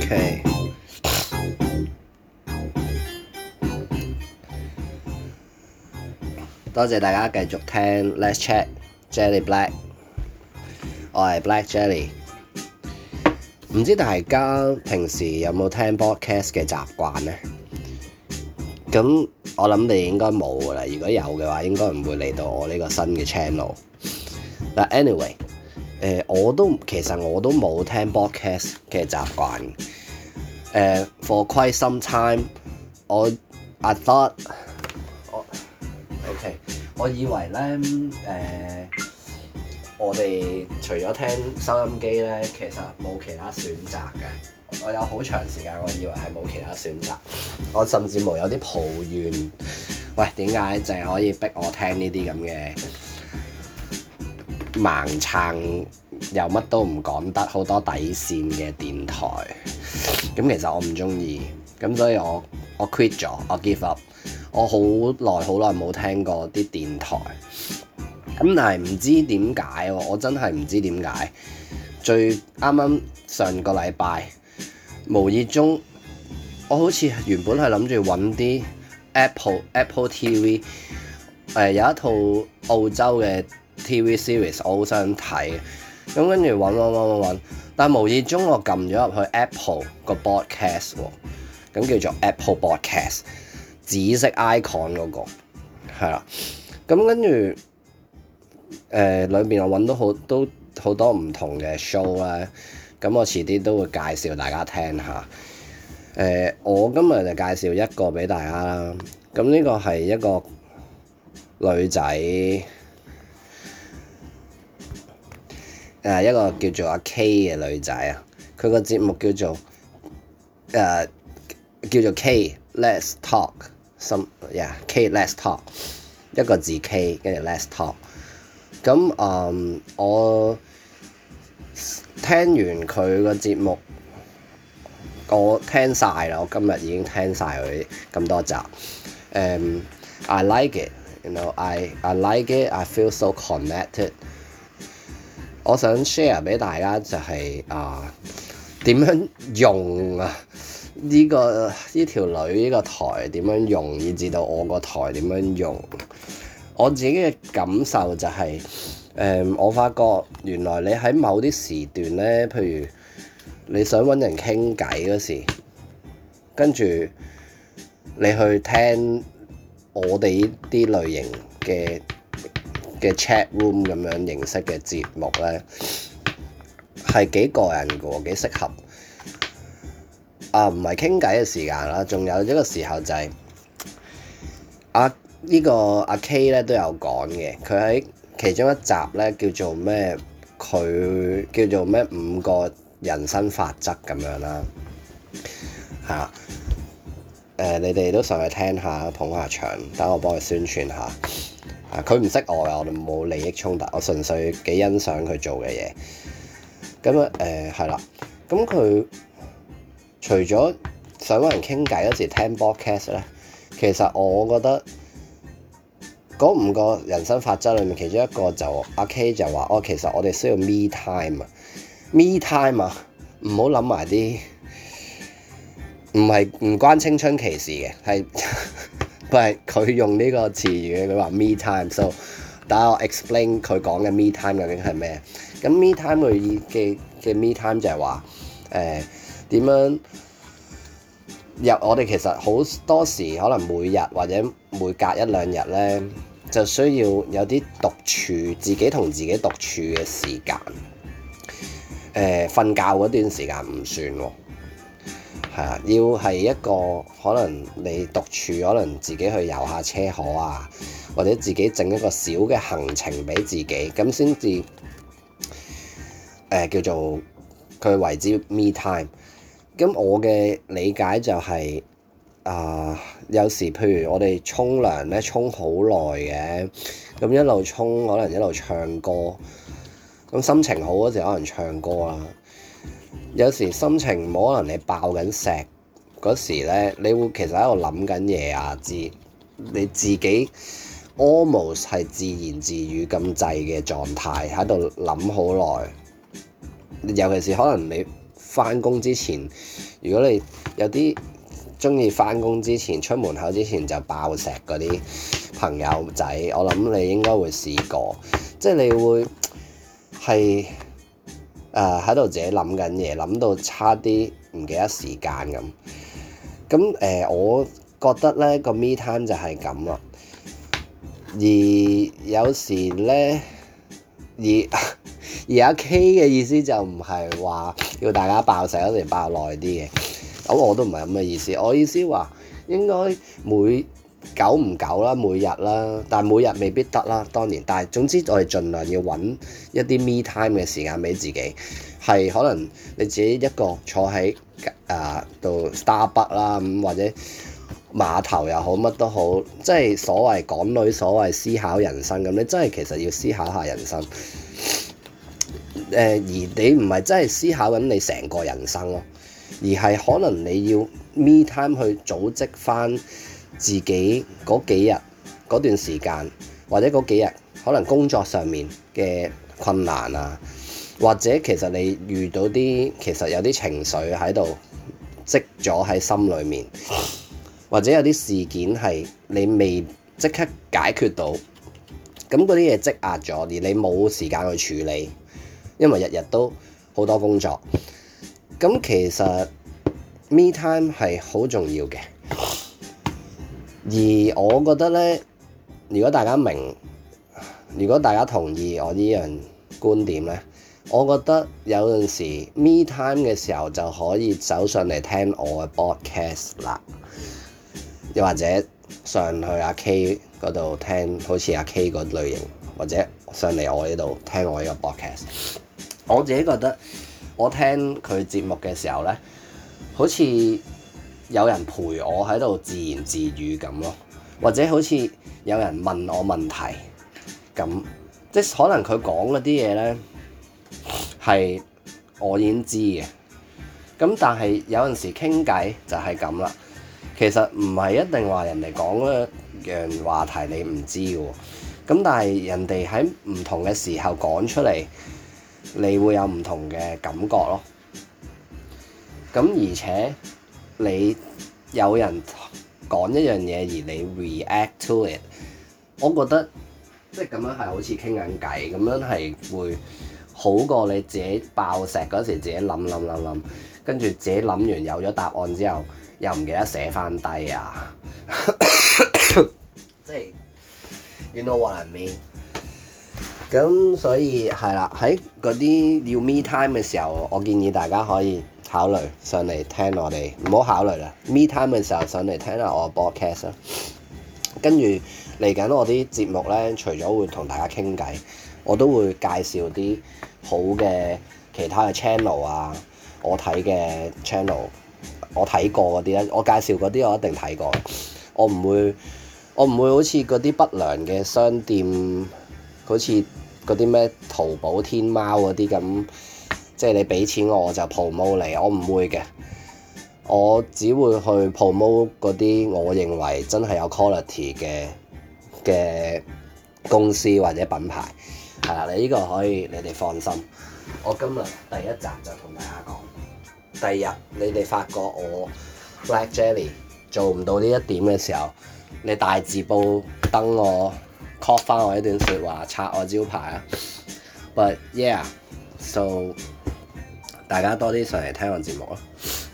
OK，多謝大家繼續聽 Let's Chat Jelly Black， 我係 Black Jelly。唔知大家平時有冇聽 podcast 嘅習慣呢？咁我諗你應該冇㗎啦。如果有嘅話，應該唔會嚟到我呢個新嘅 channel。但 anyway，其實我都冇聽 podcast 嘅習慣。For quite some time，I thought， OK， 我以為咧，我哋除咗聽收音機咧，其實冇其他選擇嘅。我有好長時間，我以為係冇其他選擇。我甚至乎有啲抱怨，喂，點解淨係可以逼我聽呢啲咁嘅盲撐又乜都唔講得好多底線嘅電台？咁其實我唔中意，咁所以我 quit 咗，我 give up。我好耐冇聽過啲電台，咁但係唔知點解喎，我真係唔知點解。啱啱上個禮拜無意中，我好似原本係諗住揾啲 Apple TV， 有一套澳洲嘅 TV series 我好想睇，咁跟住揾，但係無意中我撳咗入去 Apple 個 podcast 喎，咁叫做 Apple Podcast， 紫色 icon 嗰個係啦，咁跟住裏面我揾到好多唔同嘅 show 啦，咁我遲啲都會介紹大家聽下。我今日就介紹一個俾大家啦，咁呢個係一個女仔，一個叫做阿 K 嘅女仔啊，佢個節目叫做K Let's Talk， K Let's Talk， 一個字 K 跟住 Let's Talk。咁我聽完佢個節目，我聽晒啦，我今日已經聽晒佢咁多集。I like it， you know, I like it. I feel so connected。我想 share 俾大家就係點樣用呢條女呢個台點樣用，以至到我個台點樣用。我自己嘅感受就係，我發覺原來你喺某啲時段咧，譬如你想揾人傾偈嗰時，跟住你去聽我哋呢啲類型嘅 chat room 咁樣形式嘅節目咧，係幾過癮嘅喎，幾適合。唔係傾偈嘅時間啦，仲有一個時候就係呢個阿 K 咧都有講嘅，佢喺其中一集咧叫做咩？佢叫做咩5個人生法則咁樣啦，你哋都上去聽下，捧下場，等我幫佢宣傳下。佢唔識我嘅，我哋冇利益衝突，我純粹幾欣賞佢做嘅嘢。咁係啦，咁佢除咗想揾人傾偈嗰時聽 podcast 咧，其實我覺得嗰5個人生法則裏面，其中一個就阿 K 就話，其實我哋需要 me time 啊，me time 啊，唔好諗埋啲唔關青春期事嘅，佢用呢個詞語，佢話 me time。So 等我 explain 佢講嘅 me time 究竟係咩？咁 me time 佢嘅 me time 就係話點樣我哋其實好多時可能每日或者每隔1-2日咧，就需要有啲獨處，自己同自己獨處嘅時間。瞓覺嗰段時間唔算喎，要係一個可能你獨處，可能自己去遊下車河啊，或者自己整一個小嘅行程俾自己，咁先至叫做佢為之 me time。咁我嘅理解就係有時譬如我哋沖涼咧，沖好耐嘅，咁一路沖可能一路唱歌，咁心情好嗰時可能唱歌啦。有時心情唔好，可能你爆緊石嗰時咧，你會其實喺度諗緊嘢啊，你自己 almost 係自言自語咁滯嘅狀態喺度諗好耐。尤其是可能你翻工之前，如果你有啲中意翻工之前出門口之前就爆石嗰啲朋友仔，我諗你應該會試過，即係你會係喺度自己諗緊嘢，諗到差啲唔記得時間咁。咁我覺得咧個 me time 就係咁啦。而有時咧，而阿 K 嘅意思就唔係話要大家爆石一定爆耐啲嘅，咁我都唔係咁嘅意思。我意思話應該久唔久啦，每日啦，但係每日未必得啦，當然。但係總之我哋盡量要揾一啲 me time 嘅時間俾自己，係可能你自己一個坐喺度 Starbucks 啦，咁或者碼頭又好，乜都好，即係所謂港女所謂思考人生咁，你真係其實要思考下人生。而你唔係真係思考緊你成個人生咯，而係可能你要 me time 去組織翻自己嗰幾日嗰段時間，或者嗰幾日可能工作上面嘅困難啊，或者其實你遇到啲其實有啲情緒喺度積咗喺心裏面，或者有啲事件係你未即刻解決到，咁嗰啲嘢積壓咗，而你冇時間去處理，因為日日都好多工作。咁其實 me time 係好重要嘅，而我覺得咧，如果大家同意我呢樣觀點咧，我覺得有陣時 me time 嘅時候就可以走上嚟聽我嘅 podcast 啦，又或者上去阿 K 嗰度聽，好似阿 K 嗰類型，或者上嚟我呢度聽我呢個 podcast。我自己覺得我聽佢節目嘅時候咧，好似有人陪我喺度自言自語咁咯，或者好似有人問我問題咁，即係可能佢講嗰啲嘢咧係我已經知嘅，咁但係有陣時傾偈就係咁啦。其實唔係一定話人哋講一樣話題你唔知嘅喎，咁但係人哋喺唔同嘅時候講出嚟，你會有唔同嘅感覺咯。咁而且你有人講一樣嘢而你 react to it， 我覺得即係咁樣係好似傾緊偈，咁樣係會好過你自己爆石嗰時自己諗，跟住自己諗完有咗答案之後又唔記得寫翻低啊。即係 you know what I mean。咁所以係啦，喺嗰啲要 me time 嘅時候，我建議大家可以考慮上嚟聽我哋，唔好考慮啦。me time 嘅時候上嚟聽下我嘅 podcast 啦。跟住嚟緊我啲節目咧，除咗會同大家傾偈，我都會介紹啲好嘅其他嘅 channel 啊，我睇嘅 channel， 我睇過嗰啲咧，我介紹嗰啲我一定睇過。我唔會好似嗰啲不良嘅商店，好似嗰啲咩淘寶、天貓嗰啲咁，即係你俾錢我就 promote 你，我唔會嘅。我只會去 promote 嗰啲我認為真係有 quality 嘅公司或者品牌，係啦，你呢個可以你哋放心。我今日第一集就同大家講，第二日你哋發覺我 Black Jelly 做唔到呢一點嘅時候，你大字報登我 call 翻我一段説話，拆我招牌啊！ But yeah，so 大家多啲上嚟聽我節目咯。